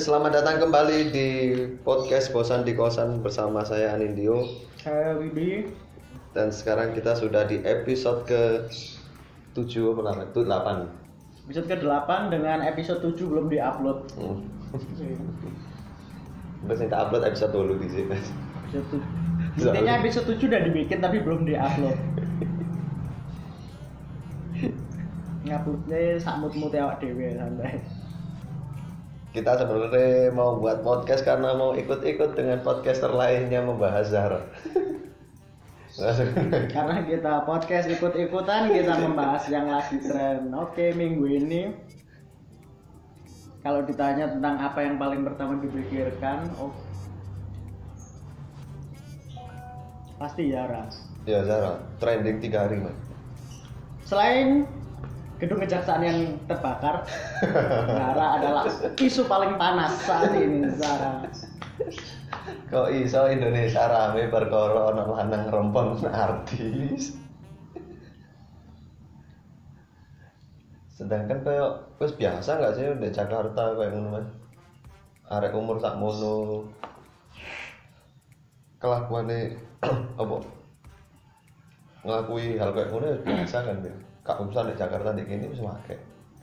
selamat datang kembali di podcast Bosan di Kosan bersama saya Anindyo. Saya Wibi. Dan sekarang kita sudah di episode ke-7 apa 8. Episode ke-8 dengan episode 7 belum diupload. Terus kita upload episode dulu di sini. Episode 7. Intinya episode 7 udah dibikin tapi belum diupload. Nguploadnya samut-mut awak dhewe santai. Kita sebenarnya mau buat podcast karena mau ikut-ikut dengan podcaster lainnya membahas Zara. Karena kita podcast ikut-ikutan, kita membahas yang lagi tren. Oke, minggu ini kalau ditanya tentang apa yang paling pertama dipikirkan, pasti Zara. Ya Zara, trending 3 hari mas. Selain gedung kejaksaan yang terbakar, Zara adalah isu paling panas saat ini. Zara. Kok iso Indonesia rame perkara ana lanang rompong artis. Sedangkan kayak wis biasa enggak sih di Jakarta kayak ngono Mas. Arek umur sakmono. Kelakuane apa? Ngelakui hal kayak ngono ya biasa kan ya. Kak urusan di Jakarta di kini wis akeh.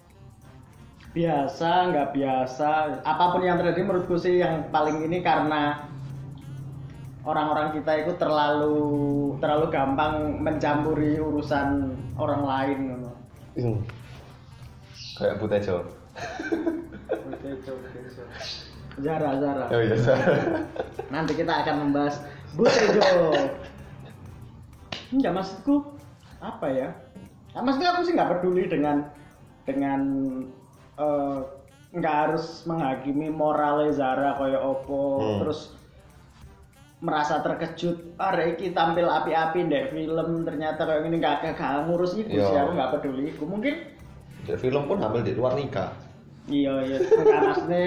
Biasa, nggak biasa, apapun yang terjadi menurutku sih yang paling ini karena orang-orang kita itu terlalu gampang mencampuri urusan orang lain. Kayak Butejo. Zara. Oh iya Zara. Nanti kita akan membahas Butejo. Enggak, maksudku apa ya? Maksudnya aku sih nggak peduli dengan nggak harus menghakimi moralnya Zara kayak opo, terus merasa terkejut, Reiki tampil api-api deh film ternyata kayak gini nggak ngurus itu sih, aku nggak peduli. Aku mungkin di film pun hamil di luar nikah. Iya nggak maksudnya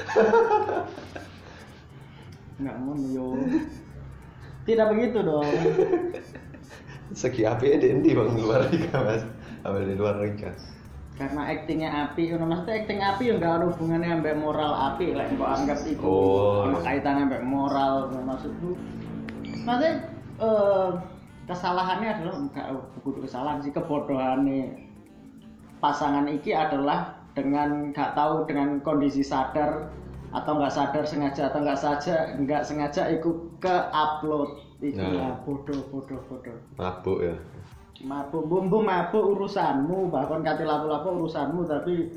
nggak mau yo, tidak begitu dong. Segi api di bang luar nikah mas, hamil di luar nikah. Karena aktingnya api, maksudnya akting api yang nggak ada hubungannya sampai moral api, lah kok anggap itu sama kaitannya sampai moral, maksudku. Maksudnya kesalahannya adalah bukan kesalahan sih, kebodohannya pasangan iki adalah dengan nggak tahu, dengan kondisi sadar atau nggak sadar, sengaja atau nggak sengaja ikut ke upload itu lah, bodoh. Mabuk ya. Mabuk urusanmu, bahkan kati lapo-lapo urusanmu, tapi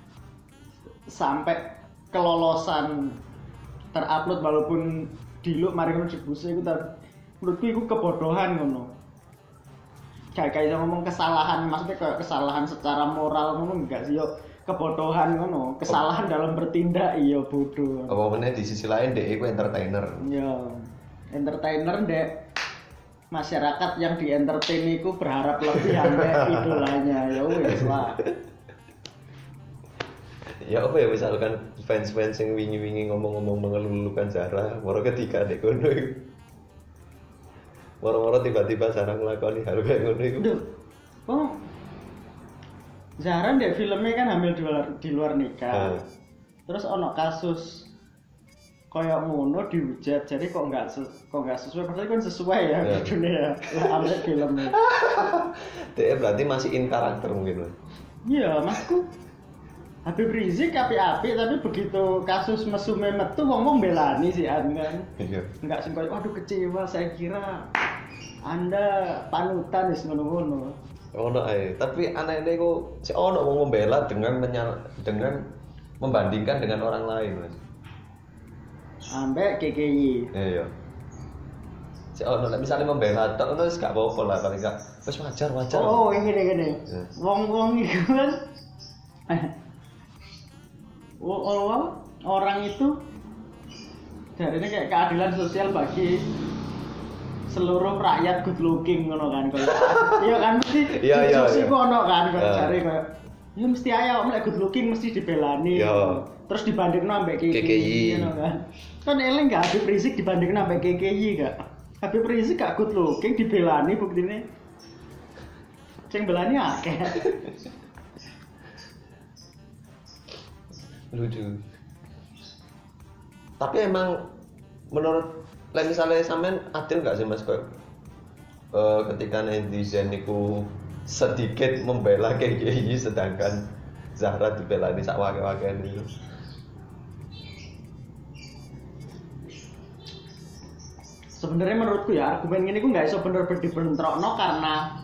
sampai kelolosan terupload walaupun diluk mari ngono dibuse iku menurutku iku kebodohan ngono. Kayak ngomong kesalahan, maksudnya kayak kesalahan secara moral ngono enggak sih, yo kebodohan ngono, kesalahan dalam bertindak iya bodoh. Apa meneh di sisi lain dek iku entertainer. Ya, entertainer dek masyarakat yang di entertain itu berharap lebih sampai idolanya, ya wes lah. Ya apa ya, misalkan fans yang wingi ngomong-ngomong mengelulukan Zara, moro ketika dek kono iku. Moro-moro tiba-tiba Zara nglakoni hal kayak ngono iku. Oh. Zara ndek filmnya kan hamil di luar nikah. Terus ono kasus kayak ngono dihujat, jadi kok nggak sesuai, padahal kan sesuai ya di dunia lah ambil filmnya. Dia berarti masih in karakter mungkin mas. Iya masku. Habib Rizik api-api, tapi begitu kasus mesume metu ngomong belani sih kan. Iya. Nggak sih kayak waduh kecewa, saya kira Anda panutan wis ngono-ngono. Ono ae, tapi aneh-aneh kok si ono mau membela dengan membandingkan dengan orang lain mas. Ambek KKI. Iya. Si ono misalnya membela tok ngono wis gak apa-apa lah, paling gak wis wajar. Oh, gini. Wong iku kan orang itu dari ini kayak keadilan sosial bagi seluruh rakyat good looking ngono kan kalau iya kan mesti sih ono kan kalau cari kayak ya mesti aja om good looking mesti dibelani terus dibandingin ambek KKI ngono kan eleng gak Habib Rizik dibandingin ambek KKI gak Habib Rizik gak good looking dibelani buktine sing belani akeh. Lucu. Tapi emang menurut misalnya sampean adil nggak sih Mas kok ketika netizen itu sedikit membela KKI sedangkan Zahra dibelani sak wake-wakean itu? Sebenarnya menurutku ya argumen ini ku nggak iso bener-bener dibentrokno karena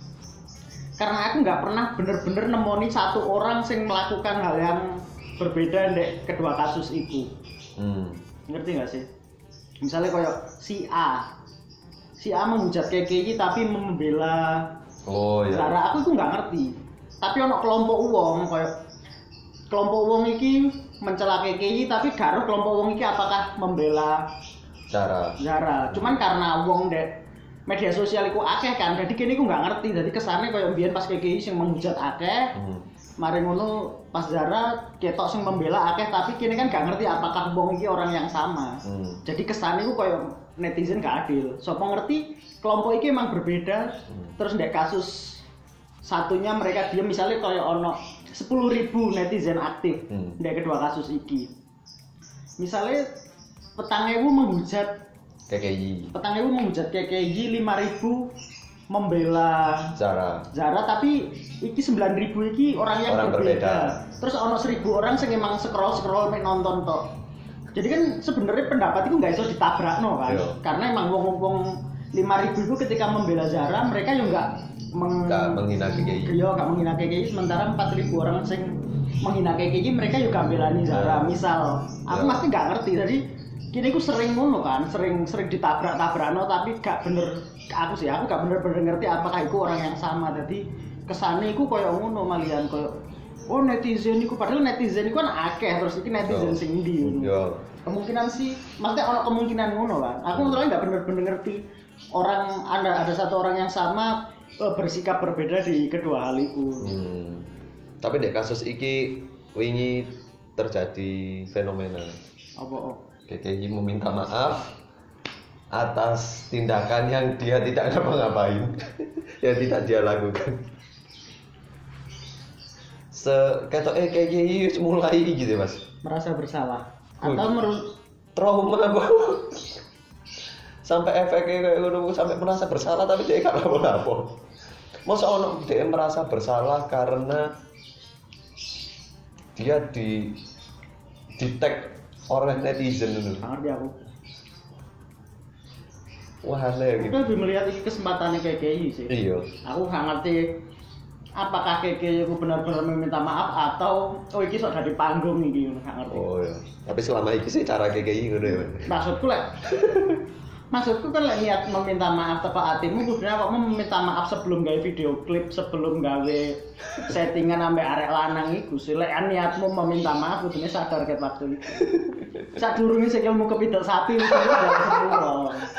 aku nggak pernah bener-bener nemoni satu orang sing melakukan hal yang berbeda di kedua kasus itu. Ngerti nggak sih? Misalnya kayak si A menghujat KKI tapi membela Zara, aku itu nggak ngerti. Tapi ono kelompok uang kayak kelompok uang iki mencela KKI tapi karo kelompok uang iki apakah membela Zara. Cuman karena uang dek media sosial iku akeh kan, jadi kene iku nggak ngerti. Jadi kesannya kayak mbiyen pas KKI sing menghujat akeh. Mari ngono pas Zara ketok sing membela akeh tapi kini kan gak ngerti apakah wong iki orang yang sama. Jadi kesannya ku koyo netizen gak adil. Sopo ngerti kelompok iki emang berbeda. Terus ndek kasus satunya mereka diam misalnya koyo ono 10.000 netizen aktif ndek kedua kasus iki. Misalnya 4.000 menghujat KKI. 4.000 menghujat KKI, 5.000 membela Zara tapi iki 9.000 iki orang yang berbeda. Terus ono 1.000 orang sing emang scroll mek nonton tok. Jadi kan sebenarnya pendapat itu nggak iso ditabrakno kan. Karena emang wong-wong 5.000 itu ketika membela Zara mereka yo nggak menghina KKI. Yo nggak menghina KKI sementara 4.000 orang sing menghina KKI mereka yo gak belani Zara. Misal aku pasti nggak ngerti. Jadi kini aku sering ngono kan, sering ditabrak-tabrakno tapi gak bener aku gak bener-bener ngerti apakah itu orang yang sama. Jadi kesane iku koyo ngono malian koyo netizen iku padahal netizen iku kan akeh terus iki netizen sing ndi ngono. Kemungkinan sih maksudnya ono kemungkinan ngono kan. Aku soalnya gak bener-bener ngerti orang ada satu orang yang sama bersikap berbeda di kedua hal itu. Tapi dek kasus iki wingi terjadi fenomena. Apa? KKI meminta maaf atas tindakan yang dia tidak ngapa-ngapain, yang tidak dia lakukan. KKI mulai gitu Mas. Merasa bersalah atau trauma sampai efeknya kayak gitu, sampai merasa bersalah tapi dia gak apa-apa. Masa ono dia merasa bersalah karena dia di tag orang netizen dulu. Ngerti aku. Wah aneh gitu. Aku lebih melihat ini kesempatannya KKI sih. Iya. Aku gak ngerti apakah KKI itu benar-benar meminta maaf atau iki sok dari panggung iki gak ngerti. Oh iya. Tapi selama ini sih cara KKI ngono ya. Maksudku kan niat meminta maaf teko atimu kudune kok meminta maaf sebelum gawe video klip, sebelum gawe settingan ambek arek lanang iku sih. Lek niatmu meminta maaf kudune sadar ket waktu itu. Sadurunge sikilmu kepidal sapi wis udah semua.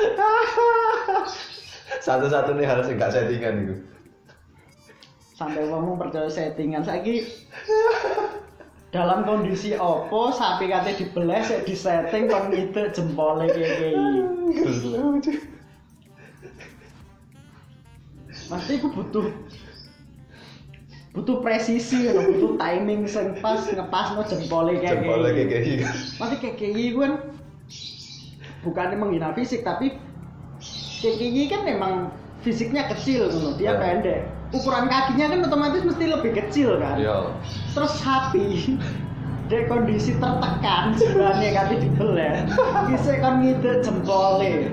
Satu-satunya hal sing gak settingan iku. Sampai ngomong percaya settingan saiki dalam kondisi opo sapi kate dibelah sik disetting kon ngidek jempole KKI. Mesti iku butuh presisi, butuh timing sing pas ngepasno jempole KKI. Mesti KKI ku kan bukannya menghina fisik tapi KKI kan memang fisiknya kecil ngono, dia pendek. Ukuran kakinya kan otomatis mesti lebih kecil kan. Terus sapi di kondisi tertekan sebenarnya kaki dibelah bisa kan ngidek jempole.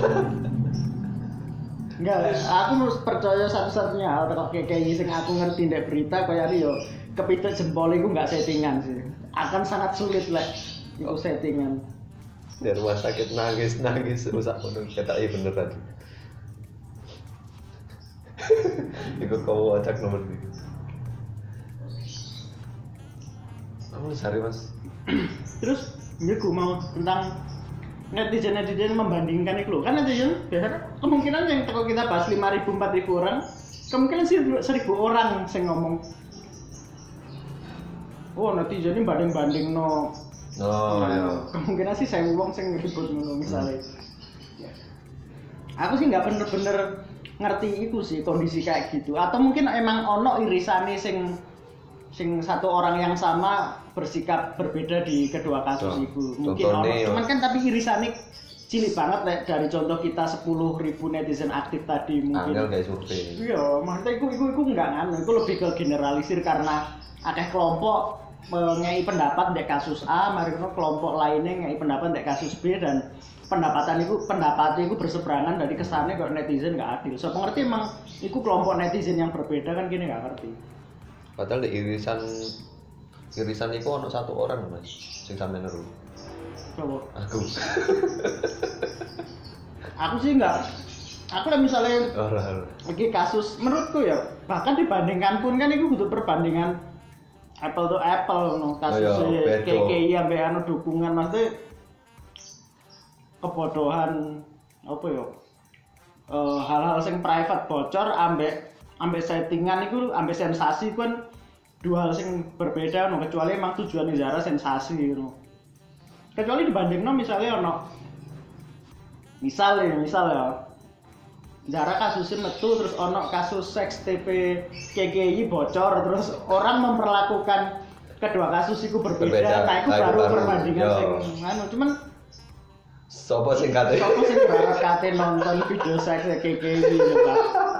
Enggak, aku harus percaya satu-satunya hal kok KKI sing aku ngerti ndek berita kaya yo kepidek jempole iku enggak settingan sih. Akan sangat sulit lek iku settingan. Di rumah sakit nangis rusak ngono ketok beneran. Ikut kau acak nomor 3. Kamu cari Mas. Terus gue mau tentang netizen membandingkan itu loh. Kan netizen biasanya kemungkinan yang kalau kita bahas 5.000 4.000 orang, kemungkinan sih 1.000 orang yang ngomong. Oh netizen ini banding no. Iya. Kemungkinan sih saya ngomong sing ribut ngono misalnya. Aku sih nggak bener-bener ngerti itu sih kondisi kayak gitu atau mungkin emang ono irisane sing sing satu orang yang sama bersikap berbeda di kedua kasus itu. Mungkin cuman kan tapi irisane cilik banget nek dari contoh kita 10.000 netizen aktif tadi mungkin. Angel kayak survei. Iya, maksudnya iku enggak nganu, iku lebih ke generalisir karena akeh kelompok ngei pendapat ndek kasus A, mari kelompok lainnya ngei pendapat ndek kasus B dan pendapatnya itu berseberangan dari kesannya kok netizen enggak adil. So pengerti emang iku kelompok netizen yang berbeda kan gini enggak ngerti. Padahal di irisan itu ono satu orang Mas sing sampeyan neru. Coba. Aku sih enggak. Aku lah misalnya lagi kasus menurutku ya bahkan dibandingkan pun kan itu butuh perbandingan apple to apple no kasus KKI sampai anu dukungan maksudnya kebodohan apa ya hal-hal yang private bocor ambek settingan itu ambek sensasi kan dua hal yang berbeda no kecuali emang tujuan Zara sensasi no. Kecuali dibandingno misalnya misal ya Zara kasusnya metu terus ono kasus seks TP KKI bocor terus orang memperlakukan kedua kasus itu berbeda. Nah itu baru perbandingan sing anu cuman sopo sing kate nonton video seks KKI coba.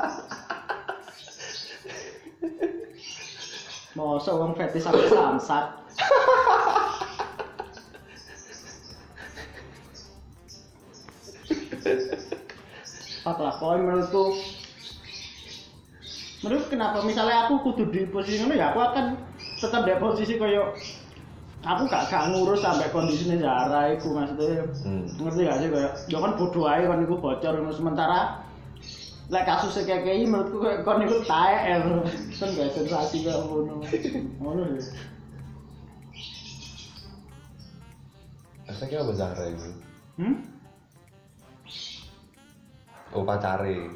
Mosok wong fetis sampe samsat. Apa menurutku kenapa misalnya aku kudu di posisi ini ya aku akan tetap di posisi koyo aku gak ngurus sampai kondisinya Zara itu maksudnya ngerti gak sih koyo ya kan bodoh aja kan itu bocor sementara lek kasusnya kayak menurutku kon itu tae kan gak sensasi gak ngono sih. Efeknya apa Zara itu? Oh pacare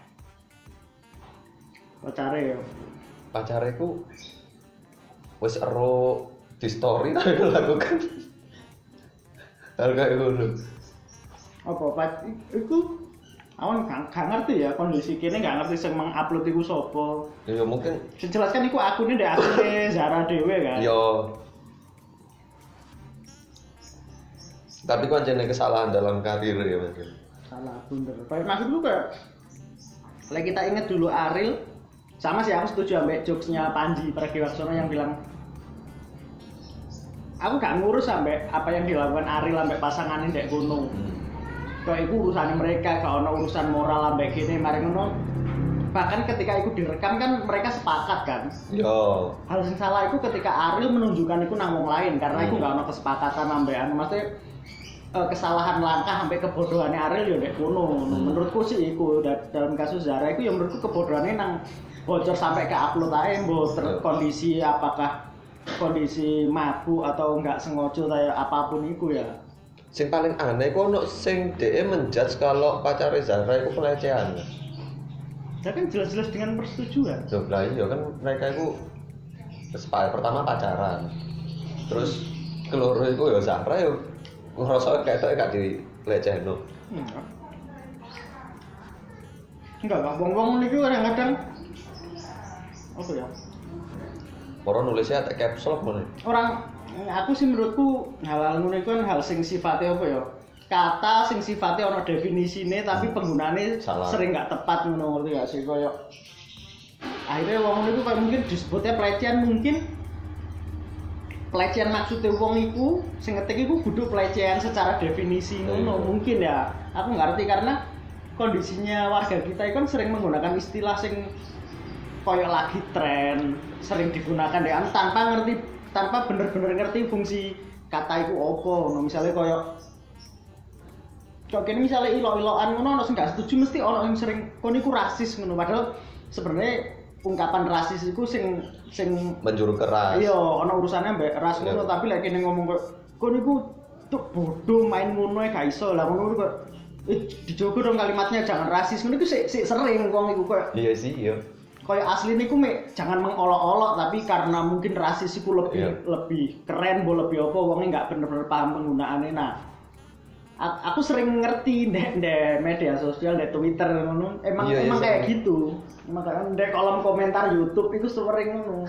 ya. Pacare ku wis ero di story tapi lakukan. Hal kayak ngono. Apa iku awan gak ngerti ya kondisi kene gak ngerti sing mengupload iku sapa. Ya mungkin jelaskan iku akune ndek akune Zara dhewe kan. Yo. Tapi kan jenenge kesalahan dalam karir ya Mas. Salah bener. Maksudku kayak lagi kita ingat dulu Ariel sama sih aku setuju sampai jokesnya Panji Pragiwaksono yang bilang aku gak ngurus sampai apa yang dilakukan Ariel sampai pasangannya ndek gunung. Kayak itu urusan mereka, gak ono urusan moral sampai gini mari ngono. Bahkan ketika itu direkam kan mereka sepakat kan. Yo. Hal yang salah itu ketika Ariel menunjukkan itu nang wong lain karena itu gak ono kesepakatan sampai anu maksudnya kesalahan langkah sampai kebodohannya Ariel ya ndek kono. Menurutku sih iku dalam kasus Zara itu yang menurutku kebodohannya nang bocor sampai ke upload ae mbok kondisi apakah kondisi mabuk atau enggak sengaja kayak apapun itu ya. Sing paling aneh ku ono sing dhek menjudge kalau pacare Zara itu pelecehan. Ya kan jelas-jelas dengan persetujuan. Lah iya kan mereka itu pertama pacaran. Terus keloro iku ya Zara ya ngerasa kayak gak dilecehno. Enggak, wong-wong niku kadang-kadang apa ya? Orang nulisnya tak capsule ngono. Orang aku sih menurutku hal-hal ngono iku kan hal sing sifatnya apa ya? Kata sing sifatnya ono definisine tapi penggunaane sering gak tepat ngono ngerti gak sih koyo akhirnya wong niku mungkin disebutnya pelecehan mungkin pelecehan maksudnya wong iku sing ngetik iku kudu pelecehan secara definisi ngono mungkin ya aku ngerti karena kondisinya warga kita kan sering menggunakan istilah sing koyo lagi tren sering digunakan deh tanpa bener-bener ngerti fungsi kata iku opo no misalnya koyo kene misalnya ilo-iloan ngono ono sing gak setuju mesti ono sing sering kon iku rasis ngono padahal sebenarnya ungkapan rasis itu sing menjuru keras. Iya, ana urusannya mbek ras ngono tapi lek kene ngomong kok kon niku tuk bodoh main ngono e gak iso. Lah ngono kok dijogo dong kalimatnya jangan rasis. Ngono iku sik sering wong iku kok. Iya sih, iya. Kayak asli niku jangan mengolok-olok tapi karena mungkin rasis iku lebih keren, lebih apa wonge enggak bener-bener paham penggunaannya. Nah, aku sering ngerti ndek media sosial, ndek Twitter ngono. Emang kayak gitu. Makanya ndek kolom komentar YouTube itu sering ngono.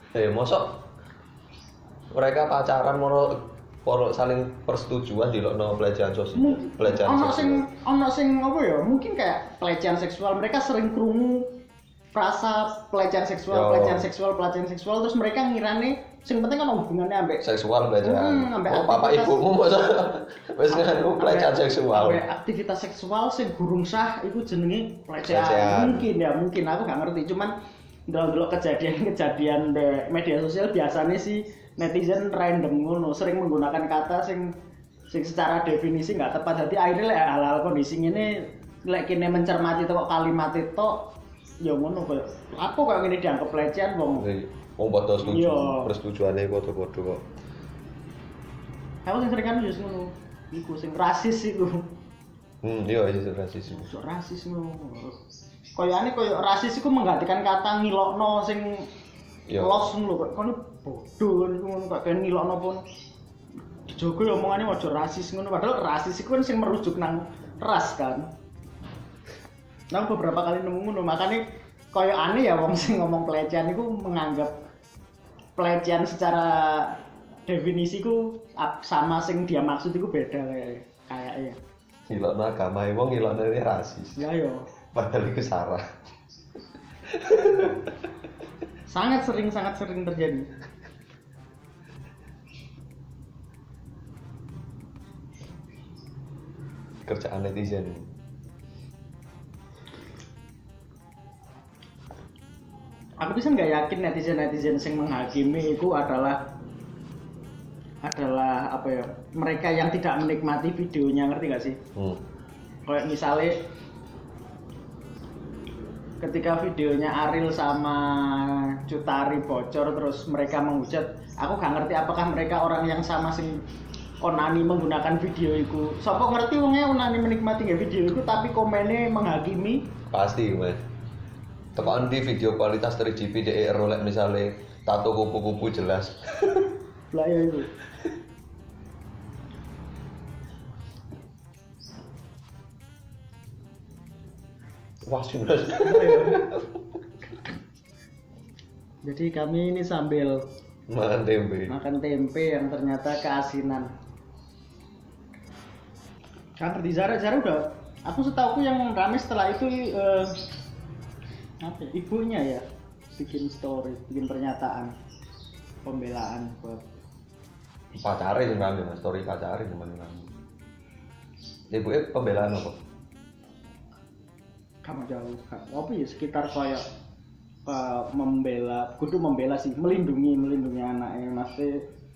Mosok mereka pacaran moro saling persetujuan dilokno pelecehan sosial. Pelecehan seksual. Ono sing apa ya? Mungkin kayak pelecehan seksual. Mereka sering krungu frasa pelecehan seksual terus mereka ngirane sing penting kan hubungannya ambek seksual pelecehan. Papa ibumu mosok wis nganu pelecehan seksual. Aktivitas seksual sing gurung sah iku jenenge pelecehan. Mungkin aku gak ngerti, cuman ndelok kejadian di media sosial biasanya sih netizen random ngono sering menggunakan kata sing secara definisi nggak tepat. Jadi akhirnya hal-hal kondisi ini lek kene mencermati tok kalimat itu ya ngono kok. Apa kok ngene dianggap pelecehan wong padha setuju. Persetujuane padha-padha kok. Aku sing sering kan yo ngono. Iku sing rasis iku. Iya sing rasis iku. Sok rasis ngono. Koyane koyo rasis iku menggantikan kata ngilokno sing los ngono kok kono bodoh niku ngono kok ben ngilokno pun dijogo ya omongane aja rasis ngono padahal rasis iku kan sing merujuk nang ras kan. Nah beberapa kali nemu ngono makane koyo aneh ya wong sing ngomong pelecehan iku menganggap pelecehan secara definisi ku sama sing dia maksud iku beda kayaknya. Ngilokno agama wong ngilokno rasis. Ya yo. Padahal iku salah. sangat sering terjadi. Kerjaan netizen. Aku bisa nggak yakin netizen yang menghakimi itu adalah apa ya, mereka yang tidak menikmati videonya, ngerti nggak sih? Kayak misalnya ketika videonya Ariel sama Cutari bocor terus mereka menghujat, aku gak ngerti apakah mereka orang yang sama sing onani menggunakan video itu. Sopo ngerti wongnya onani menikmati nggak video itu tapi komennya menghakimi? Pasti mas. Tekan di video kualitas 3GP DE rolek misalnya tato kupu-kupu jelas. Lah ya itu. Wah sudah. Jadi kami ini sambil makan tempe yang ternyata keasinan. Kan di Zara udah. Aku setahu yang rame setelah itu apa? Ibunya ya bikin story, bikin pernyataan pembelaan buat pacare yang rame mas, story pacare yang rame. Ibunya pembelaan apa? Kamu jauh, apa ya sekitar kayak membela sih, melindungi anaknya, maksudnya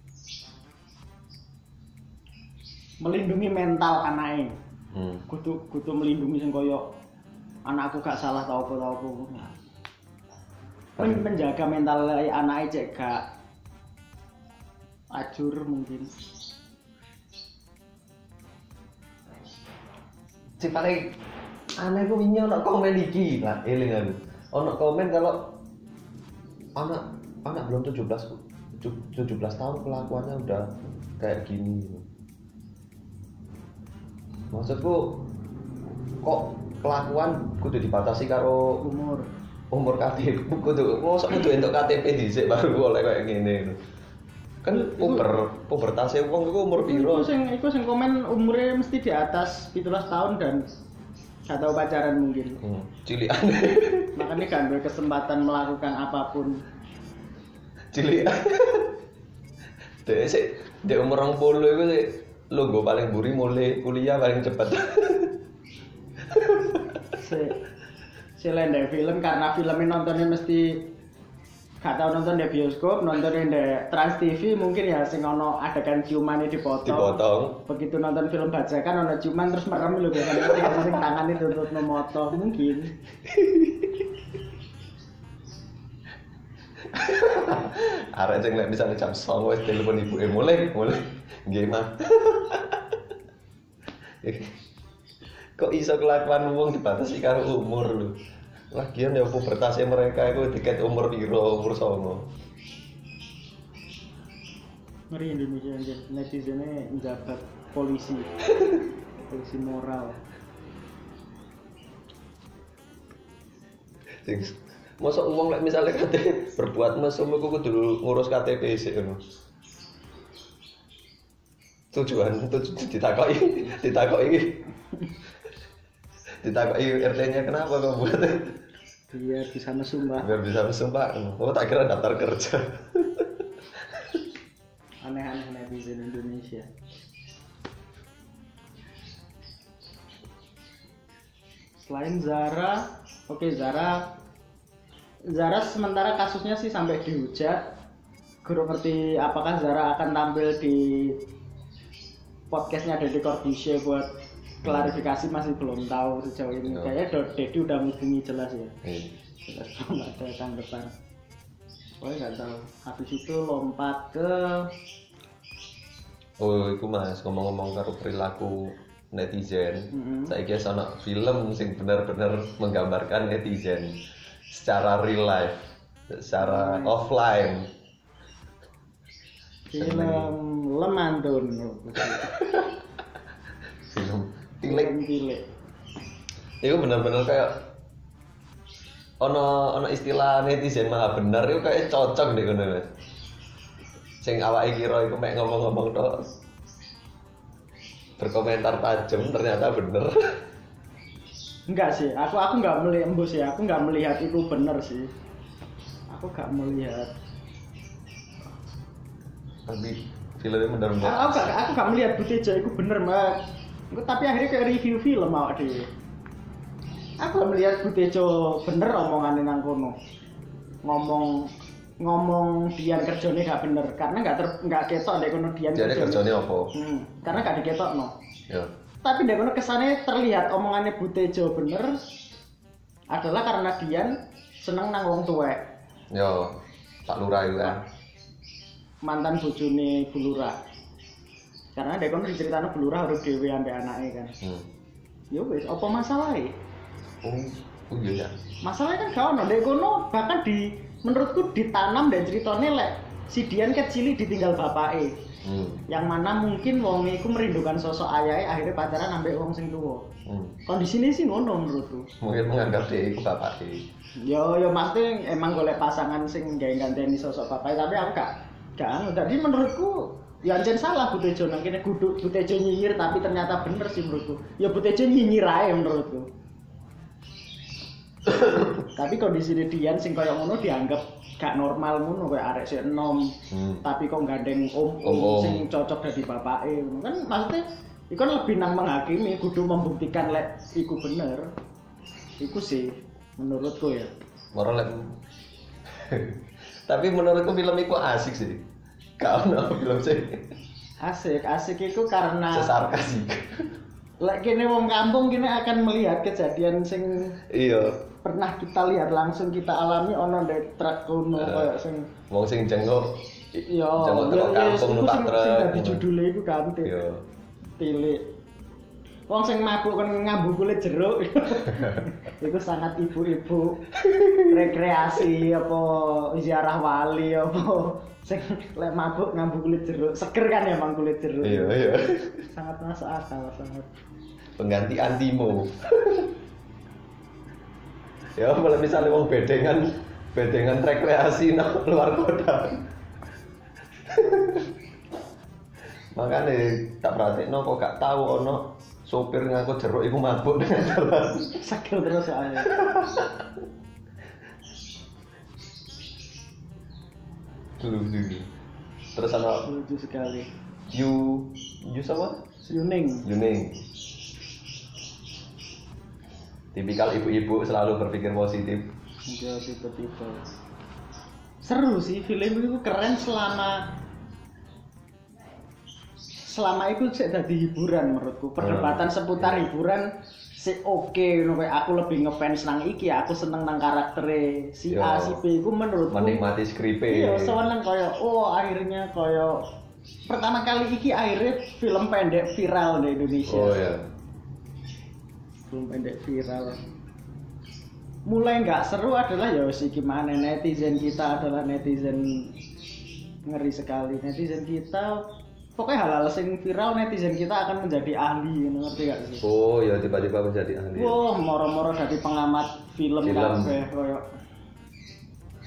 melindungi mental anaknya. Kudu melindungi sing koyo anakku gak salah tau apa. Menjaga mental anaknya cek gak acur mungkin. Si paling aneh ku wingi ono komen iki lah, eling ono komen kalau anak belum 17 tahun kelakuannya udah kayak gini. Maksudku kok kelakuan kudu dibatasi karo umur KTP, kudu entuk KTP dhisik baru oleh kayak ngene. Kan pubertase wong iku umur piro? Iku sing komen umurnya mesti di atas 17 tahun dan gak tahu pacaran mungkin. Cilian. Makanya kan berkesempatan melakukan apapun. Cilian. Dek umur 20 iku sih logo paling buri mulai kuliah paling cepat. Si lendek film karena filmnya nontonnya mesti gak tau nonton di bioskop, nontonnya di Trans TV mungkin ya sing ono adegan ciumannya dipotong. Begitu nonton film bajakan ono ciuman terus merem lho biasanya sing tangannya tutup moto mungkin. Arek sing lek misale jam 09.00 wis telepon ibuke mulai nggih mah. Kok iso kelakuan wong dibatasi karo umur lho. Lagian ya pubertasnya mereka itu tiket umur piro, umur 9. Ngeri Indonesia aja, netizennya menjabat polisi moral. Mosok wong lek misale kate berbuat mesum iku kudu ngurus KTP sik ngono. Tujuan ditakoki RT-nya kenapa kok buat? Biar bisa mesum, Pak. Biar bisa mesum, Pak. Oh, tak kira daftar kerja. Aneh-aneh netizen Indonesia. Selain Zara, Zara sementara kasusnya sih sampai dihujat. Guru ngerti apakah Zara akan tampil di podcastnya Deddy Corbuzier buat klarifikasi, masih belum tahu sejauh ini. Kayaknya Deddy udah menghubungi jelas ya. Jelas belum ada tanggapan. Pokoknya nggak tahu. Habis itu lompat ke iku Mas, ngomong-ngomong karo perilaku netizen. Saiki ana film sing bener-bener menggambarkan netizen secara real life, secara offline. Film Lemandun. Film Tilik. Itu bener-bener kayak ono istilah netizen maha bener itu kayak cocok deh ngono Mas. Sing awake kira iku mek ngomong-ngomong tok. Berkomentar tajam ternyata bener. Enggak sih, aku enggak melihat embus ya, aku enggak melihat itu bener sih. Aku enggak melihat. Tapi filmnya bener-bener. Aku enggak melihat Butejo itu bener, Mbak. Tapi akhirnya kayak review film awak dhewe. Aku melihat Butejo bener omongannya nang kono. Ngomong Dian kerjane gak bener karena enggak ketok ndek kono Dian. Jadi kerjane apa? Karena gak diketokno. Ya. Tapi ndek kono kesane terlihat omongannya Butejo bener adalah karena Dian seneng nang wong tuwek. Yo, Pak Lurah itu kan. Mantan bojone Bu Lurah. Karena ndek kono diceritano Bu Lurah harus dhewe ambek anake kan. Ya wis, apa masalahe? Oh iya ya. Masalahnya kan gak ono ndek kono, bahkan menurutku ditanam dan ceritanya lek si Dian kecil ditinggal bapake. Yang mana mungkin wong iku merindukan sosok ayahe, akhirnya pacaran ambek wong sing tuwa. Kondisine sih ngono menurutku. Mungkin menganggap dia iku bapake. Yo maksudnya emang golek pasangan sing gawe ganteni sosok bapake, tapi aku gak anu. Jadi menurutku ya anjen salah Butejo nang kene kudu Butejo nyinyir tapi ternyata bener sih menurutku. Ya Butejo nyinyir ae menurutku. Tapi kondisi Dian sing koyo ngono dianggap gak normal ngono koyo arek sik enom. Tapi kok gandeng om sing cocok dadi bapake ngono kan maksudnya iku lebih nang menghakimi kudu membuktikan lek iku bener. Iku sih menurutku ya. Moral tapi menurutku film iku asik sih. Gak ono film sih. Asik iku karena sesarkas sih. Lek kene wong kampung kene akan melihat kejadian sing pernah kita lihat langsung kita alami ono ndek truk kono koyo sing wong sing jenguk. Iya, kampung numpak truk. Sing dadi judule iku kan Tilik. Wong sing mabuk kan ngambu kulit jeruk. Iku sangat ibu-ibu rekreasi apa ziarah wali apa sing lek mabuk ngambu kulit jeruk. Seger kan emang kulit jeruk. Iya. Sangat masuk akal sangat. Pengganti antimo. Ya, kalau misalnya wong bedengan rekreasi nang luar kota. Makanya tak perhatiin kok gak tahu ono sopir ngaku jeruk iku mabuk dengan jalan. Sakit terus soalnya. Dulu. Terus ana lucu sekali. You sama? Yuning. Tipikal ibu-ibu selalu berpikir positif. Enggak tipe-tipe. Seru sih film itu keren selama itu sik dadi hiburan menurutku. Perdebatan seputar hiburan sik oke ngono kayak aku lebih ngefans nang iki, aku seneng nang karaktere si A si B iku menurutku menikmati skripe. Iya, seneng kaya akhirnya kaya pertama kali iki akhirnya film pendek viral di Indonesia. Oh iya. Film pendek viral. Mulai nggak seru adalah ya wis iki mana netizen kita adalah netizen ngeri sekali. Netizen kita pokoknya hal-hal sing viral netizen kita akan menjadi ahli, ngerti gak sih? Oh ya tiba-tiba menjadi ahli. Wah, moro-moro jadi pengamat film kabeh koyo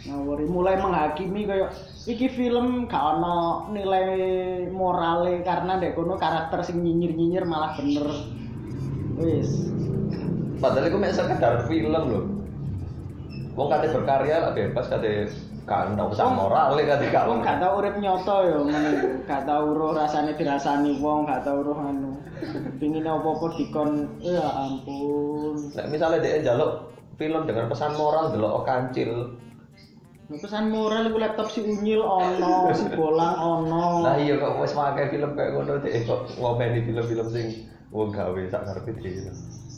ngawuri mulai menghakimi kayak iki film gak ono nilai morale karena ndek kono karakter sing nyinyir-nyinyir malah bener. Wis. Padahal iku mek sekedar film lho. Wong kate berkarya lah bebas kate gak ono pesan morale kate gak wong gak tau urip nyoto ya ngene. Gak tau roh rasane dirasani wong, gak tau roh anu. Pingine apa-apa dikon ya ampun. Nek misale dhek njaluk film dengan pesan moral delok kancil. Pesan moral iku laptop si unyil ono, si bolang ono. Lah iya kok wis makai film kayak ngono dhek kok ngomeni film-film sing wong gawe sak karepe dhewe.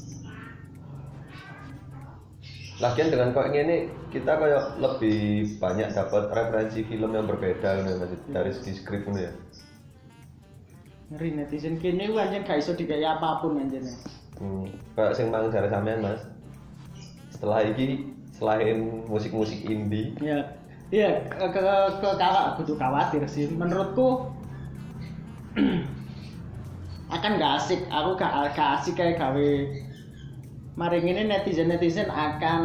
Lagian dengan kok ngene kita kayak lebih banyak dapat referensi film yang berbeda ngono dari segi skrip ngono ya. Ngeri netizen kene ku anjen gak iso digawe apapun anjene. Kayak sing mang jare sampean Mas. Setelah iki selain musik-musik indie iya ke kakak kudu khawatir sih menurutku akan gak asik aku gak asik kayak gawe mari ini netizen akan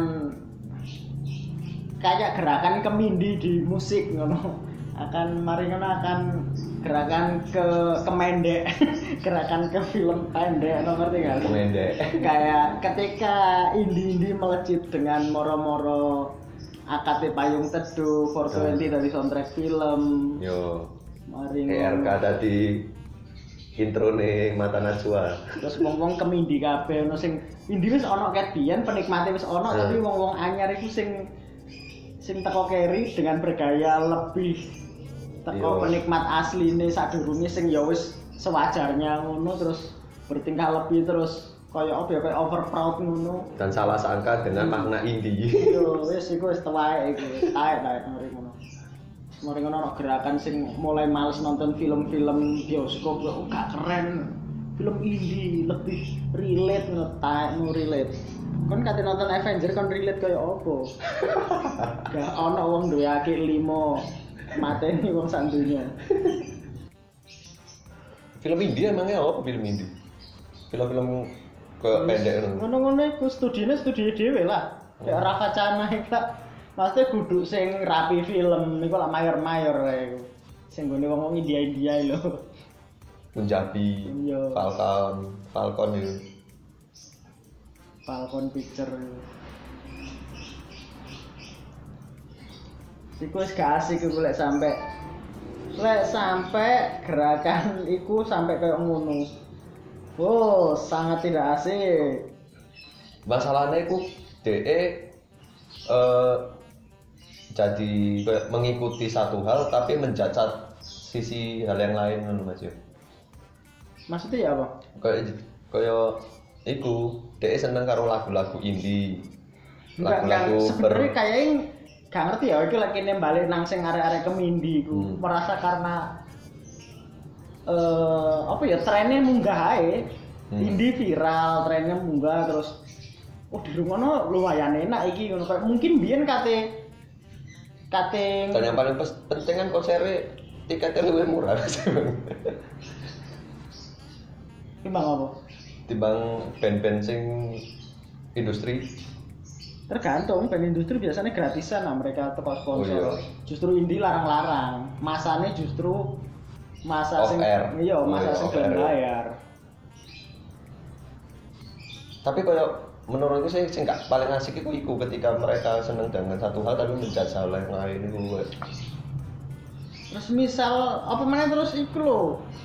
kayak gerakan kemindi di musik ngono akan mari ngono akan gerakan ke mendek gerakan ke film pendek ngerti gak? Pendek. Kayak ketika indie melejit dengan moro-moro AKT Payung Teduh 420 dari soundtrack film. Yo. Mari ERK tadi intro nih Mata Najwa. Terus wong-wong kemindi kabeh ono sing indie wis ono ket biyen penikmate wis ono tapi wong-wong anyar iku sing teko keri dengan bergaya lebih teko penikmat asline sadurunge sing ya wis sewajarnya ngono terus bertingkah lebih terus kaya apa ya kaya over proud ngono dan salah sangka dengan makna indie. Yo wis iku wis tuwae iku taek mari ngono. Mari ngono ana gerakan sing mulai males nonton film-film bioskop kok gak keren. Film indie lebih relate ngono taek no relate. Kon kate nonton Avenger kon relate kaya apa? Gak ana wong duwe akeh 5 mateni wong sandunya. Film indie emangnya apa film indie? Film-film ke pendek ngono-ngono iku studio dhewe lah. Kayak Rafa Cana iku maksudnya kudu sing rapi film niku lah mayor-mayor iku. Sing gone wong India lho. Punjabi, Falcon itu. Falcon Picture. Iku wis gak asik iku lek sampai gerakan iku sampai kayak ngono. Oh, sangat tidak asik. Masalahnya iku DE jadi mengikuti satu hal tapi mencacat sisi hal yang lain ngono Mas yo. Maksudnya ya apa? Kayak iku DE seneng karo lagu-lagu indie. Lagu-lagu sebenarnya kayaknya gak ngerti ya, iki lagi balik nang sing arek-arek kemindi iku merasa karena apa ya trennya munggah ae. Indie viral, trennya munggah terus di rumahno lumayan enak iki ngono kayak mungkin biyen kate dan yang paling penting kan konsernya tiketnya lebih murah sih Bang. Timbang apa? Timbang band-band sing industri. Tergantung, band industri biasanya gratisan lah mereka teko sponsor. Justru indie larang-larang. Masane justru masa sing iya, masa sing bayar. Tapi kalau menurutku sih sing gak paling asik iku ketika mereka seneng dengan satu hal tapi menjudge hal yang lain iku. Terus misal apa mana terus iku lho.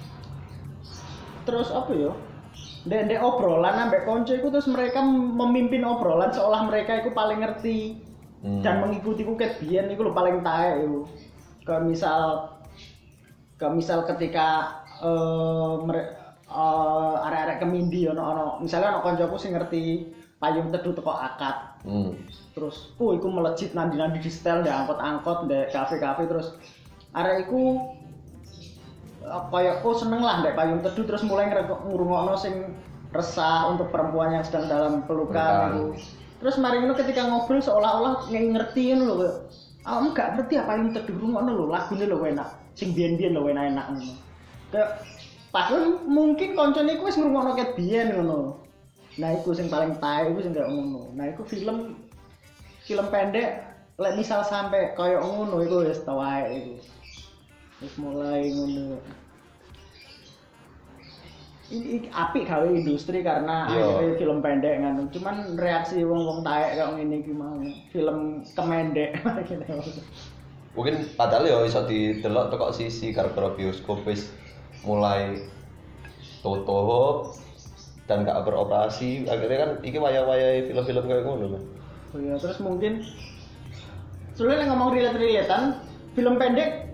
Terus apa ya? Ndek obrolan ambek konco iku terus mereka memimpin obrolan seolah mereka iku paling ngerti dan mengikuti ku ket biyen iku lho paling taek iku. Kayak misal ketika arek-arek kemindi ono misalnya ono koncoku sing ngerti Payung Teduh teko akad. Terus iku melejit nandi-nandi di setel ndek angkot-angkot ndek kafe-kafe terus arek iku kayak seneng lah ndek Payung Teduh terus mulai ngrungokno sing resah untuk perempuan yang sedang dalam pelukan itu. Terus mari ngono ketika ngobrol seolah-olah ngerti ngono lho. Kamu gak ngerti apa Payung Teduh ngono lho, lagune lho enak. Sing biyen-biyen lho enak ngono. Kayak padahal mungkin koncone iku wis ngrungokno ket biyen ngono. Nah iku sing paling tae iku sing gak ngono. Nah iku film pendek lek misal sampai koyo ngono iku wis tau ae iku. Wis mulai ngono. Ini apik gawe industri karena akhirnya film pendek kan. Cuman reaksi wong-wong taek kok ngene iki mau. Film kemendek. Mungkin padahal ya iso didelok teko sisi gara-gara bioskop wis mulai tutup dan gak beroperasi. Akhirnya kan iki wayah-wayah film-film kayak ngono kan. Oh iya, terus mungkin soalnya ngomong relate-relatean film pendek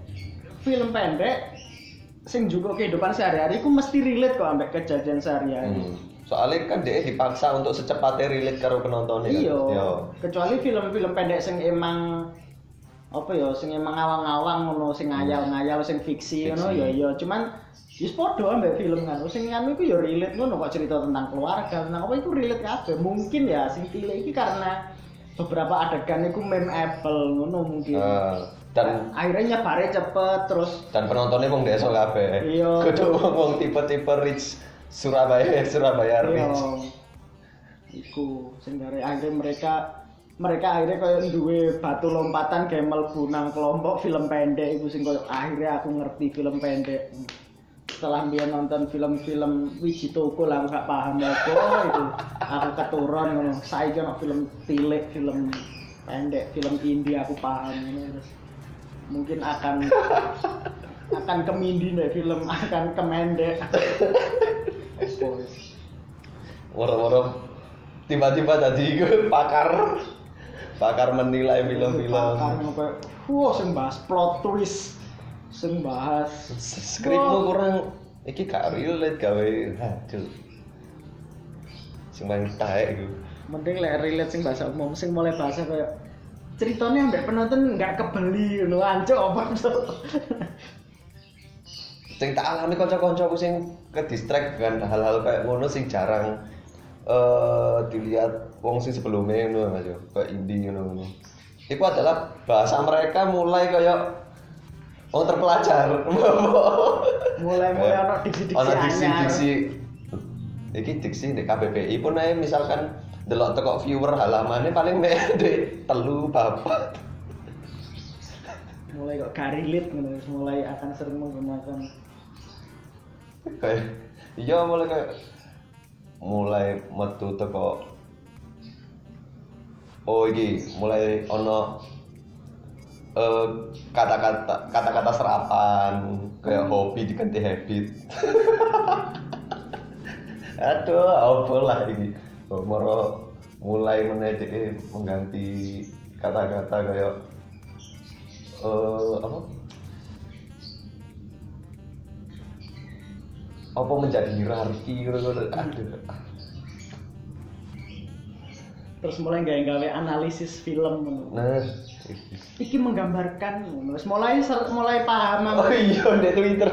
sing juga kehidupan sehari-hari ku mesti relate kok ambek kejadian sehari-hari. Soalnya kan dia dipaksa untuk secepatnya relate karo penontonnya kan. Iya. Kecuali film-film pendek sing emang apa ya, sing emang ngawang-ngawang ngono, sing ngayal-ngayal, sing fiksi ngono ya iya. Cuman wis padha ambek film kan. Sing anu iku ya relate ngono kok, cerita tentang keluarga, tentang apa iku relate kabeh. Mungkin ya sing cilik iki karena beberapa adegan iku memorable ngono mungkin. Dan akhirnya nyebare cepet terus dan penontonnya wong desa kabeh. Iya. Kudu wong tipe-tipe rich Surabaya rich. Iya. Iku sing dari akhirnya mereka akhirnya kayak duwe batu lompatan kayak mlebu nang kelompok film pendek iku sing koyo akhirnya aku ngerti film pendek. Setelah dia nonton film-film Wiji Toko lah aku gak paham apa itu. Aku keturun ngono. Saiki ono film cilik, film pendek, film indie aku paham ngono. Mungkin akan kemindi nih film, akan kemendek. Woro-woro tiba-tiba tadi pakar menilai film-film. Pakar kayak, sing bahas plot twist, sing bahas skripmu kurang, iki gak relate gawe, aduh. Sing paling taek iku. Mending lek relate sing bahasa umum, sing mulai bahasa kayak ceritanya ambek penonton nggak kebeli ngono ancuk apa tuh. Sing tak alami kanca-kancaku sing ke distract dengan hal-hal kayak ngono sing jarang dilihat wong sing sebelumnya ngono Mas yo, kayak indie ngono. Iku adalah bahasa mereka mulai kayak wong terpelajar. mulai ana diksi-diksi. Iki diksi di KBBI pun ae misalkan delok teko viewer halamane paling mek ndek 3 bapak. Mulai kok garilit ngono, mulai akan sering menggunakan kayak iya mulai metu teko iki mulai ono kata-kata serapan kayak hobi diganti habit. Aduh, apa lah ini? Moro mulai mengganti kata-kata kayak apa menjadi hierarki gitu. Aduh. Terus mulai gawe analisis film. Nah, iki menggambarkan mulai paham. Oh iya di Twitter.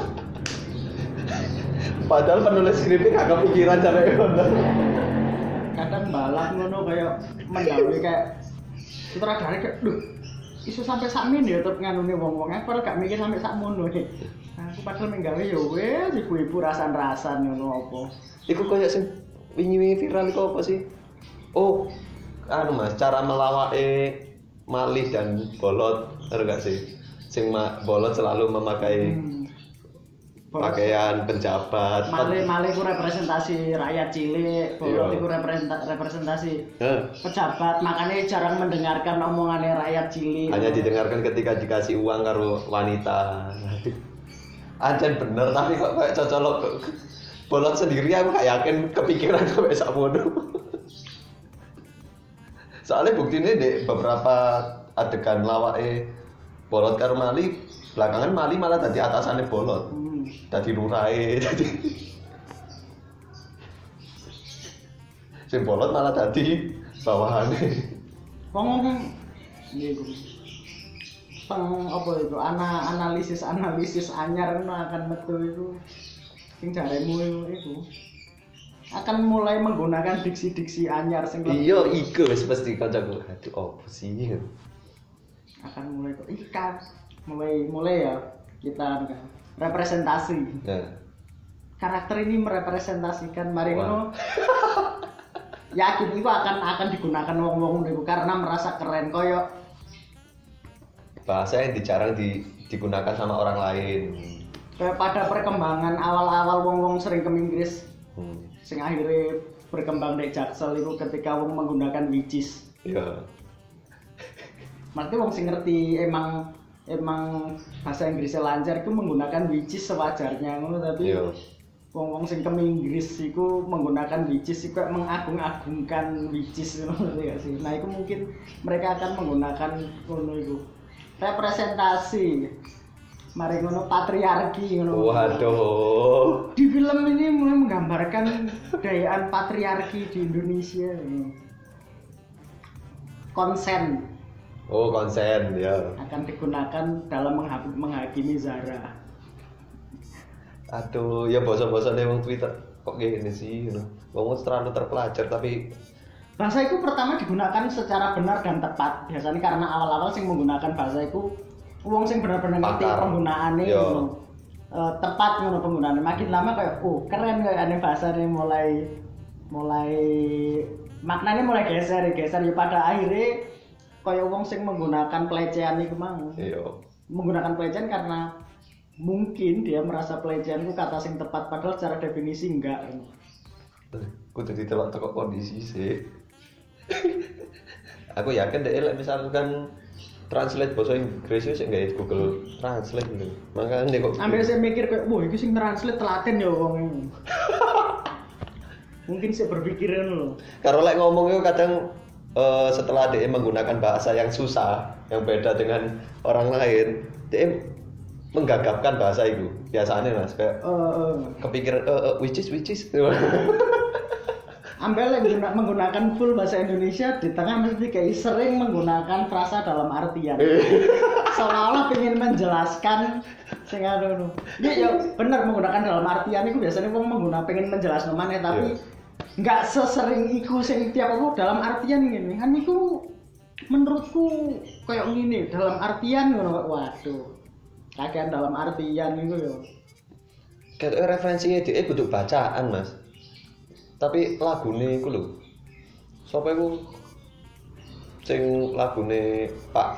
Padahal penulis skripnya gak kepikiran sampai ngono. Kadang balak ngono kayak mendawai kayak sutradara kayak iso sampai sakmen ya tetep nganune wong-wong padahal gak mikir sampai sakmono iki. Aku padahal menggawe ya wis ibu-ibu rasan-rasan ngono apa. Iku koyo sing wingi-wingi viral iku apa sih? Oh, Mas, cara melawake malih dan bolot, bener gak sih? Sing bolot selalu memakai pakaian pejabat. Malih ku representasi rakyat cilik, bolot iku representasi pejabat, makanya jarang mendengarkan omongannya rakyat cilik. Hanya didengarkan ketika dikasih uang karo wanita. Aduh. Anjen bener tapi kok kayak cocolok bolot sendiri aku gak yakin kepikiran sampai sakmono. Soalnya buktinya di beberapa adegan lawake bolot karo Mali, belakangan Mali malah tadi atasannya bolot. Tadi lurai, tadi si bolot malah tadi bawahannya. Ngomong ini apa itu analisis anyar akan metu itu sing jaremu itu akan mulai menggunakan diksi anyar sing iya iku wis pasti kancaku aduh opo sih akan mulai kok ikan mulai ya kita representasi. Karakter ini merepresentasikan mari ngono. Yakin itu akan digunakan wong-wong niku karena merasa keren koyo bahasa yang jarang digunakan sama orang lain. Kayak pada perkembangan awal-awal wong sering ke Inggris. Sing akhirnya berkembang dari Jaksel itu ketika wong menggunakan which is. Iya. Maksudnya wong sing ngerti emang bahasa Inggrisnya lancar itu menggunakan which is sewajarnya ngono, tapi wong sing ke Inggris itu menggunakan which is itu mengagung-agungkan which is ngono ya sih. Nah, itu mungkin mereka akan menggunakan ngono itu. Representasi mari ngono patriarki ngono. Waduh. Di film ini mulai menggambarkan budayaan patriarki di Indonesia. Konsen. Oh, konsen ya. Akan digunakan dalam menghakimi Zara. Aduh, ya bosan-bosannya wong Twitter kok gini sih, wong terlalu terpelajar tapi bahasa itu pertama digunakan secara benar dan tepat. Biasanya karena awal-awal sing menggunakan bahasa itu wong sing benar-benar ngerti penggunaannya ngono. Tepat ngono penggunaannya. Makin lama kayak keren kayak ane bahasanya mulai maknanya mulai geser ya pada akhirnya kayak wong sing menggunakan pelecehan iku mang. Iya. Menggunakan pelecehan karena mungkin dia merasa pelecehan itu kata sing tepat padahal secara definisi enggak. Kudu ditelok teko kondisi sih. Aku yakin deh misalkan translate bahasa Inggris itu nggak Google Translate gitu. Makanya kok ambil saya mikir kayak wah ini sing translate telaten ya wong ini. Mungkin saya berpikiran loh. Kalau like ngomong itu kadang setelah dia menggunakan bahasa yang susah, yang beda dengan orang lain, dia menggagapkan bahasa itu. Biasanya mas kayak kepikiran which is Ambil menggunakan full bahasa Indonesia di tengah mesti kayak sering menggunakan frasa dalam artian. Seolah-olah pengen menjelaskan sing anu. Ya bener menggunakan dalam artian itu biasanya wong pengen menjelaskan mana tapi nggak sesering iku sing tiap aku dalam artian ngene. Kan iku menurutku kayak ngene dalam artian ngono waduh. Kakean dalam artian itu ya. Kayak referensinya dia kudu bacaan mas. Tapi lagune iku lho. Sapa iku sing lagune Pak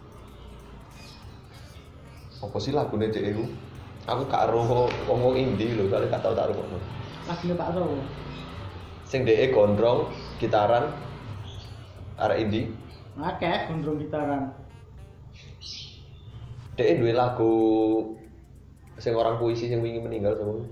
apa sih lagune dhek iku? Aku gak ero wong indie lho, kali gak tau tak rungokno. Lagune Pak Sowo. Sing dhek gondrong gitaran arek indie. Akeh gondrong gitaran. Dhek duwe lagu sing orang puisi sing wingi meninggal sama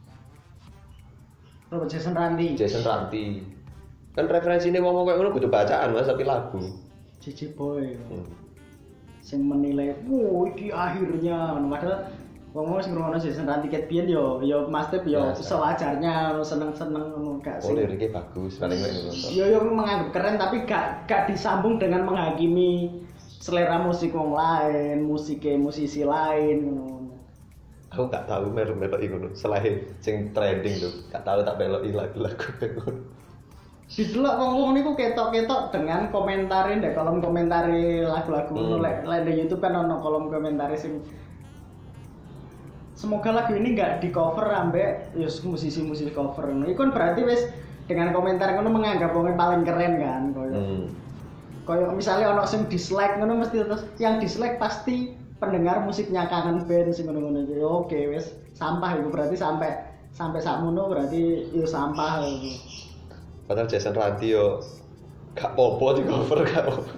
Robert Jason Ranti. Kan referensinya ngomong kayak ngono kudu bacaan mas tapi lagu. Cici Boy. Sing menilai, "Wah, iki akhirnya." Padahal ngomong sing ngrungokno Jason Ranti ket biyen yo Mas Tep yo sewajarnya seneng-seneng ngono gak sih. Oh, liriknya bagus, paling nek nonton. Yo menganggap keren tapi gak disambung dengan menghakimi selera musik wong lain, musisi lain ngono. Aku gak tahu melok iku selain sing trending tuh gak tahu tak beloki lagu-lagu ngono. Didelok wong-wong niku ketok-ketok dengan komentarin deh kolom komentari lagu-lagu ngono lek di YouTube kan ono kolom komentari sing semoga lagu ini enggak di cover ambek musisi-musisi cover ngono. Iku kan berarti wis dengan komentar ngono menganggap wong paling keren kan koyo misalnya ono sing dislike ngono mesti terus yang dislike pasti pendengar musiknya kangen band sing ngono-ngono iki. Oke, wis sampah itu berarti sampai sakmono berarti yo sampah itu. Padahal Jason Ranti yo gak popo di cover gak popo.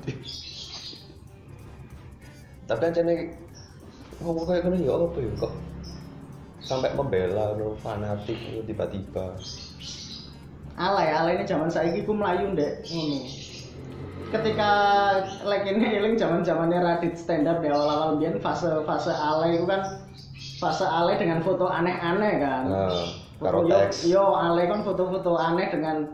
Tapi kan jane ngomong kayak ngono yo apa yo kok sampai membela no fanatik tiba-tiba. Alay ini zaman saiki ku mlayu ndek ngono. Ketika ini eling zaman-zamannya Radit stand up di awal-awal biyen fase alay itu kan fase alay dengan foto aneh-aneh kan. Karo teks. Yo alay kan foto-foto aneh dengan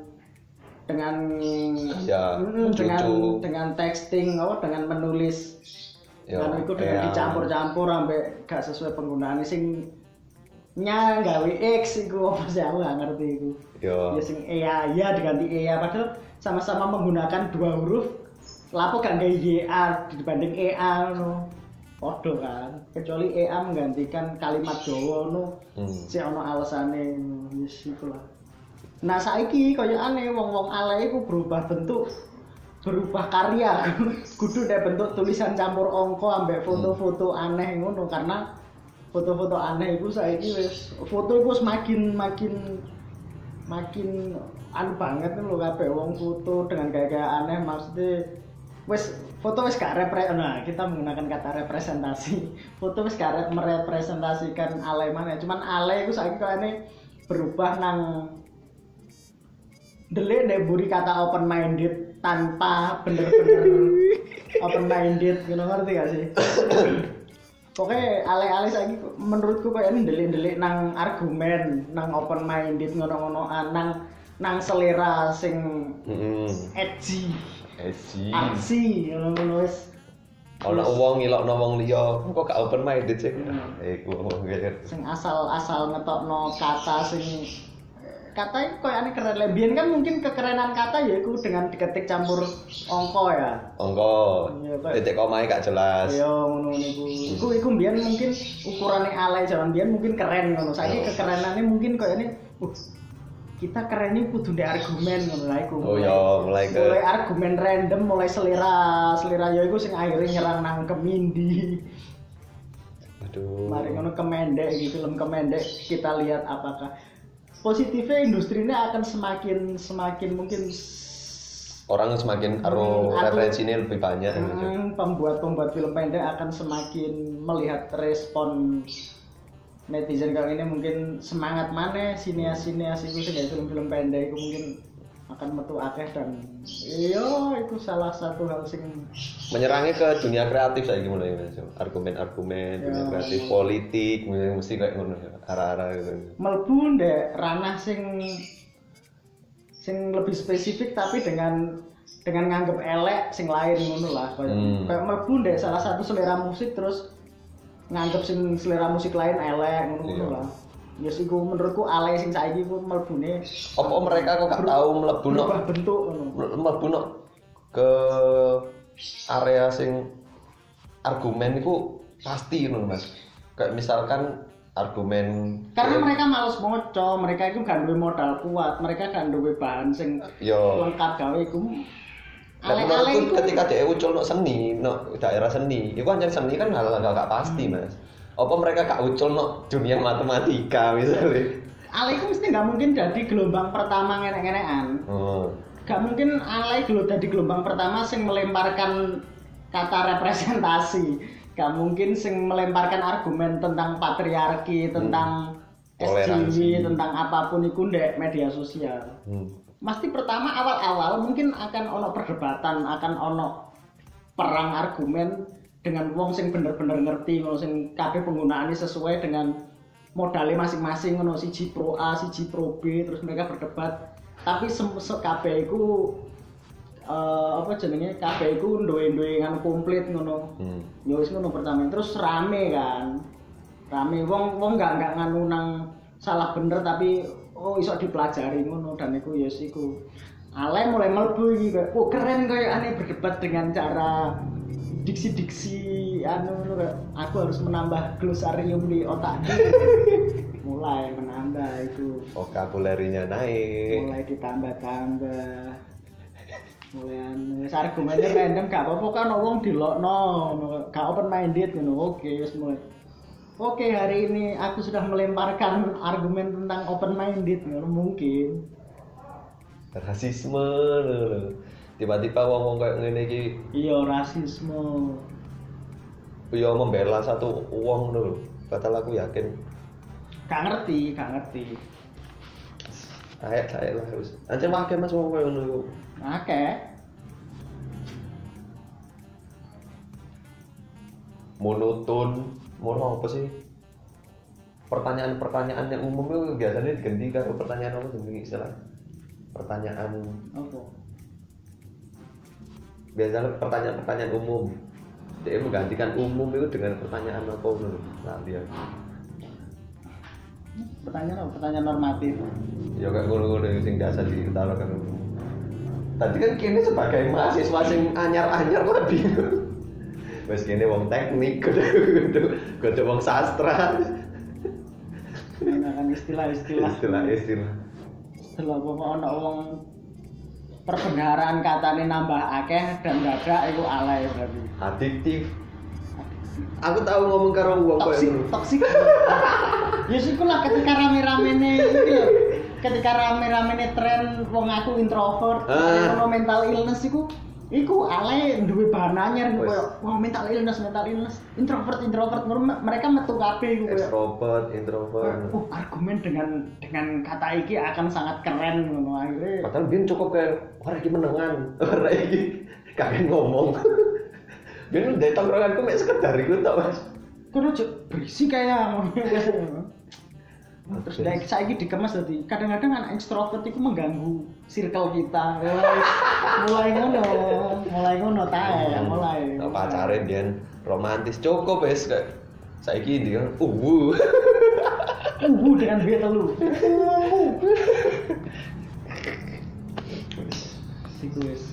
texting dengan menulis. Kan itu dengan dicampur-campur sampai gak sesuai penggunaan sing gawe X iku apa sih aku gak ngerti iku. Ya sing ya diganti padahal sama-sama menggunakan dua huruf. Lapo gak gawe YA dibanding EA ngono. Podo kan. Kecuali EA menggantikan kalimat Jawa ngono. Sik ono alasane wis iku lah. Nah saiki koyo aneh wong-wong alay iku berubah bentuk berubah karya kudu nek bentuk tulisan campur angka ambek foto-foto aneh ngono karena foto-foto aneh iku saiki wis foto iku makin anu banget lho kabeh wong foto dengan gaya-gaya aneh maksudnya wis foto wis gak kita menggunakan kata representasi foto wis gak merepresentasikan alay mana cuman alay iku saiki kayane berubah nang delik nek buri kata open minded tanpa bener-bener open minded ngono ngerti gak sih? Pokoknya alay-alay saiki menurutku kayak ini delik-delik nang argumen, nang open minded ngono-ngonoan, nang selera sing edgy. Aksi ngono wis. Ana wong ngilokno wong liya, kok gak open minded sih. Iku wong kaya sing asal ngetokno kata sing kata koyane keren lebien kan mungkin kekerenan kata ya iku dengan diketik campur angka ya. Angka. Titik komae gak jelas. Iya ngono niku. Iku mbiyen mungkin ukurane alay jaman mbiyen mungkin keren ngono. Saiki kekerenane mungkin koyane kita keren iki kudu ndek argumen ngono lha iku. Oh ya, mulai argumen random, mulai selera ya iku sing akhirnya nyerang nang Kemindi. Aduh. Mari ngono Kemendek iki film Kemendek kita lihat apakah positifnya industri ini akan semakin mungkin orang semakin referensinya lebih banyak pembuat film pendek akan semakin melihat respon netizen kali ini mungkin semangat mana sineas itu sih film pendek itu mungkin akan metu akeh dan itu salah satu hal sing menyerangnya ke dunia kreatif saya gimana ya argumen dunia kreatif politik mesti kayak ngono arah-arah gitu mlebu ndek ranah sing lebih spesifik tapi dengan nganggep elek sing lain ngono lah kayak mlebu ndek salah satu selera musik terus nganggep sing selera musik lain elek ngono lah. Ya sih ku menurutku alay sing saiki ku mlebune apa mereka kok gak tau mlebu bentuk mlebu ke area sing argumen iku pasti ngono Mas. Kayak misalkan argumen karena mereka males moco, mereka itu gak duwe modal kuat, mereka gak duwe bahan sing lengkap gawe iku. Alay-alay ketika dia ucul seni, daerah seni, itu kan seni kan hal gak pasti Mas. Apa mereka gak ucul dunia matematika misalnya? Alay itu mesti gak mungkin jadi gelombang pertama ngenek-ngenekan. Gak mungkin alay jadi gelombang pertama sing melemparkan kata representasi. Gak mungkin sing melemparkan argumen tentang patriarki, tentang SJW, tentang apapun itu ndek media sosial. Pasti pertama awal-awal mungkin akan ono perdebatan, akan ono perang argumen dengan wong sing bener-bener ngerti ngono sing kabeh penggunaane sesuai dengan modalnya masing-masing ngono siji pro A, siji pro B terus mereka berdebat. Tapi kabeh iku kabeh iku duwe nganu komplit ngono. Ya wis ngono pertama terus rame kan. Rame wong gak nganu nang salah bener tapi iso dipelajari ngono dan iku ya iku. Alay mulai mlebu iki kok keren koyo aneh berdebat dengan cara diksi aku harus menambah glosarium di otakku. Mulai menambah itu vokabularinya naik mulai ditambah mulai argumennya random gak apa-apa kan wong dilokno gak open minded ngono wis mulai hari ini aku sudah melemparkan argumen tentang open minded ngono mungkin rasisme tiba-tiba ngomong kayak ngene iki iya rasisme iya membela satu uang dulu padahal aku yakin gak ngerti saya lah harus aja wae Mas wong koyo ngono akeh monoton apa sih pertanyaan yang umum itu biasanya diganti karo pertanyaan apa jenenge istilah pertanyaan apa biasanya pertanyaan umum dia menggantikan umum itu dengan pertanyaan apa dulu nah dia pertanyaan normatif ya kayak ngono-ngono sing biasa diutarakan tadi kan kini sebagai mahasiswa sing anyar-anyar lah bingung wes kini wong teknik kudu wong sastra menggunakan istilah apa setelah apa ana wong perbendaharaan katane nambah akeh dan dadak iku alay berarti. Adiktif. Aku tahu ngomong karo wong koyo toksik. Ya sik lah ketika rame-ramene iki lho. Ketika rame-ramene tren wong aku introvert, ono mental illness iku alay duwe bahan anyar koyo wah mental illness, introvert mereka metu kabeh iku koyo extrovert, introvert. Argumen dengan kata iki akan sangat keren ngono akhirnya. Padahal biyen cukup kayak ora iki menengan, ora iki kakek ngomong. Biyen ndek tongkronganku mek sekedar iku tok, Mas. Kono berisi kayak ngono. Terus kayak saiki dikemas dadi kadang-kadang anak ekstrovert itu mengganggu circle kita. Mulai ngono tae, mulai. Pacare biyen romantis cukup wis kayak saiki dia dengan B telu. Sikus.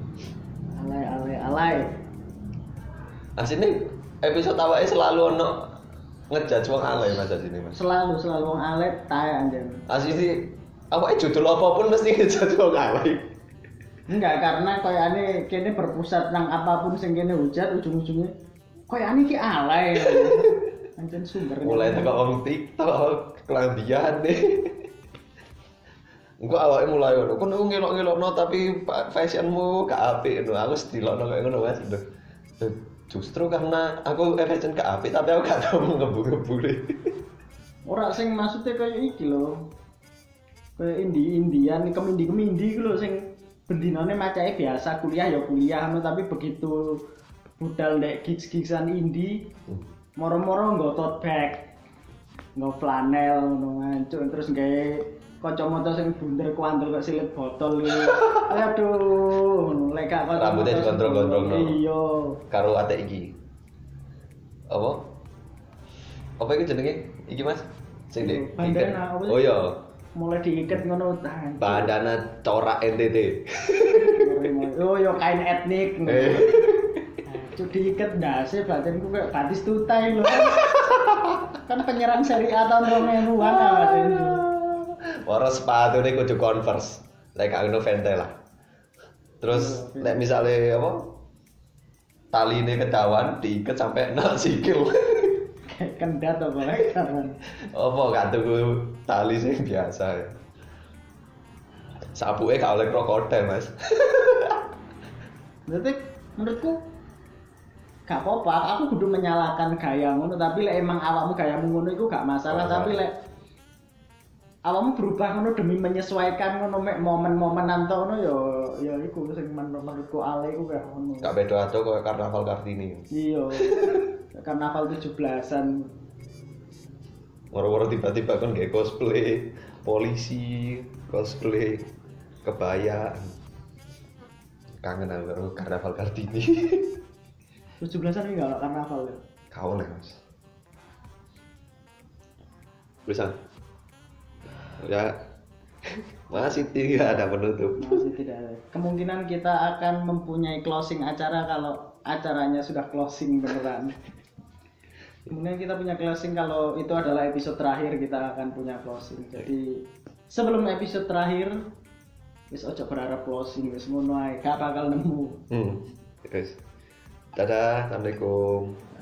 Alay. Asine episode awake selalu ono ngejudge wong alay Mas asine Mas. Selalu wong alay tae anjen. Asine awake judul apapun mesti ngejudge wong alay. Enggak, karena koyane kene berpusat nang apapun sing kene hujat ujung-ujungnya koyane iki alay. Anjen sumber. Mulai teko wong TikTok, kelambian deh. Engko awake mulai ngono. Kon ngelok-ngelokno tapi fashionmu gak apik ngono. Aku sedilokno kaya ngono Mas. Justru karena aku fashion gak apik tapi aku gak tau ngebu-ngebure. Ora sing maksudnya kaya iki lho. Kaya Indian, kemindi iku lho sing bendinane macake biasa kuliah ya kuliah tapi begitu budal ndek gigs-gigsan indie moro-moro nggo tote bag, nggo flanel ngono ngancuk terus gawe kacamata sing bunder kuandel kok silet botol iki. Aduh, ngono lek gak kok rambutnya dikontrol-kontrolno. Iya. Karo atek iki. Apa? Apa iki jenenge? Iki Mas? Sing ndek. Bandana apa sih? Oh iya. Mulai diiket ngono tahan. Bandana corak NTT. Oh yo kain etnik. Cuk diiket ndase batinku kayak batis tutai lho. Kan penyerang Serie A tahun 2000-an awake. Ora sepatune kudu Converse. Lek gak ngono Ventela. Terus nek misale apa? Taline kedawan diiket sampai nang sikil. Kendat apa lek kan. Apa gak tuku tali sing biasa ya. Sapuke gak oleh krokodil, Mas. Berarti menurutku gak apa-apa, aku kudu menyalahkan gaya ngono tapi lek emang awakmu gayamu ngono iku gak masalah, tapi lek awakmu berubah ngono demi menyesuaikan ngono mek momen-momenan to ngono ya iku sing menurutku alay iku gak ngono. Gak beda ado koyo Karnaval Kartini. Iya. Karnaval 17-an. Moro-moro tiba-tiba kan kayak cosplay polisi, cosplay kebaya. Kangen aku karo Karnaval Kartini. 17-an iki gak karnaval ya. Kau lah Mas. Bisa. Ya. Masih tidak ada penutup. Masih tidak ada. Kemungkinan kita akan mempunyai closing acara kalau acaranya sudah closing beneran. Kemudian kita punya closing kalau itu adalah episode terakhir kita akan punya closing. Jadi sebelum episode terakhir wis ojo berharap closing wis ngono ae gak bakal nemu. Guys. Dadah, assalamualaikum.